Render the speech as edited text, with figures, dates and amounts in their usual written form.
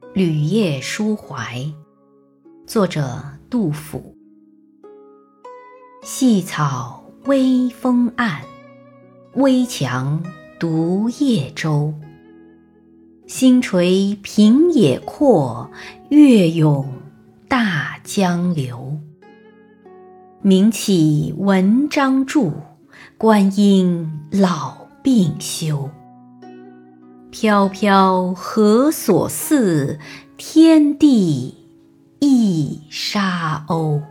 旅夜书怀，作者杜甫。细草微风岸，危樯独夜舟。星垂平野阔，月涌大江流。名岂文章著，观音老病休。飘飘何所似，天地一沙鸥。